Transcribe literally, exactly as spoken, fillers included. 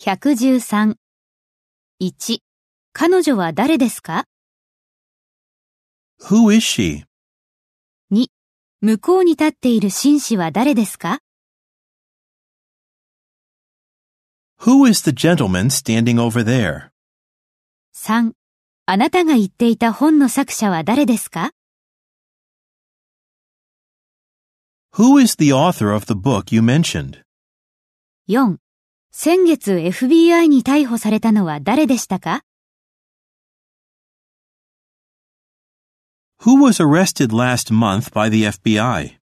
ひゃくじゅうさん。いち、彼女は誰ですか？ Who is she? に、向こうに立っている紳士は誰ですか？ Who is the gentleman standing over there? さん、あなたが言っていた本の作者は誰ですか？ Who is the author of the book you mentioned? よん、先月 エフビーアイ に逮捕されたのは誰でしたか？ Who was arrested last month by the F B I?